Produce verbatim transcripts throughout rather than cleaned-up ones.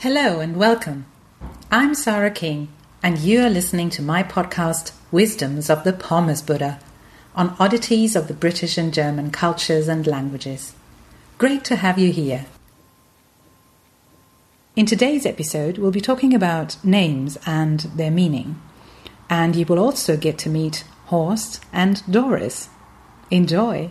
Hello and welcome. I'm Sarah King, and you are listening to my podcast, Wisdoms of the Pommes Buddha, on oddities of the British and German cultures and languages. Great to have you here. In today's episode, we'll be talking about names and their meaning, and you will also get to meet Horst and Doris. Enjoy!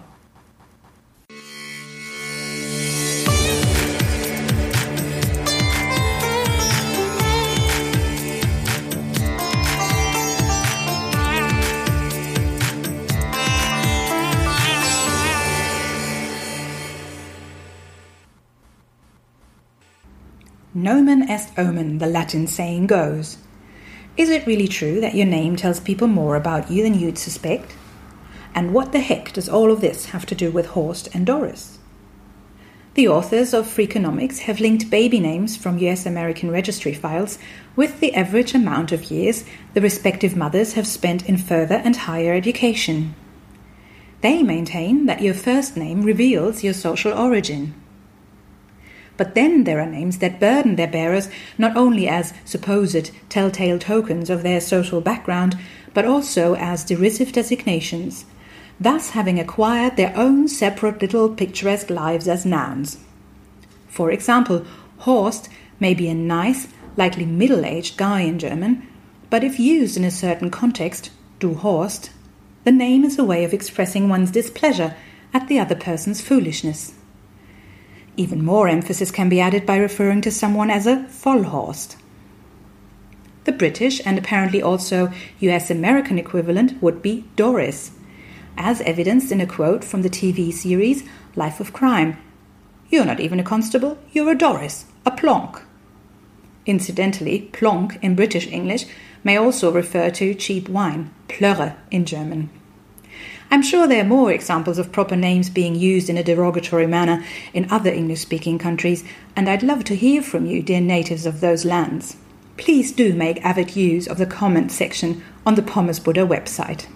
Nomen est omen, the Latin saying goes. Is it really true that your name tells people more about you than you'd suspect? And what the heck does all of this have to do with Horst and Doris? The authors of Freakonomics have linked baby names from U S American registry files with the average amount of years the respective mothers have spent in further and higher education. They maintain that your first name reveals your social origin. But then there are names that burden their bearers not only as supposed telltale tokens of their social background, but also as derisive designations, thus having acquired their own separate little picturesque lives as nouns. For example, Horst may be a nice, likely middle-aged guy in German, but if used in a certain context, du Horst, the name is a way of expressing one's displeasure at the other person's foolishness. Even more emphasis can be added by referring to someone as a Vollhorst. The British and apparently also U S American equivalent would be Doris, as evidenced in a quote from the T V series Life of Crime. "You're not even a constable, you're a Doris, a plonk." Incidentally, plonk in British English may also refer to cheap wine, Plörre in German. I'm sure there are more examples of proper names being used in a derogatory manner in other English-speaking countries, and I'd love to hear from you, dear natives of those lands. Please do make avid use of the comment section on the Pommes Buddha website.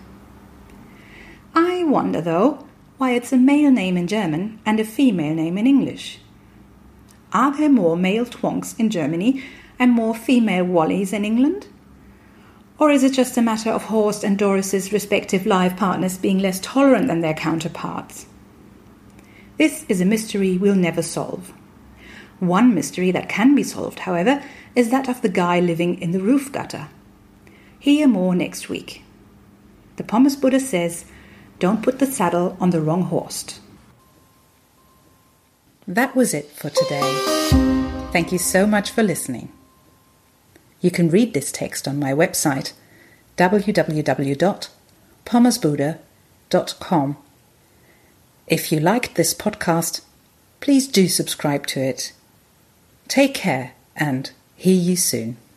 I wonder, though, why it's a male name in German and a female name in English. Are there more male twonks in Germany and more female Wallies in England? Or is it just a matter of Horst and Doris's respective life partners being less tolerant than their counterparts? This is a mystery we'll never solve. One mystery that can be solved, however, is that of the guy living in the roof gutter. Hear more next week. The Pommes Buddha says, don't put the saddle on the wrong Horst. That was it for today. Thank you so much for listening. You can read this text on my website, w w w dot pommes buddha dot com. If you liked this podcast, please do subscribe to it. Take care and hear you soon.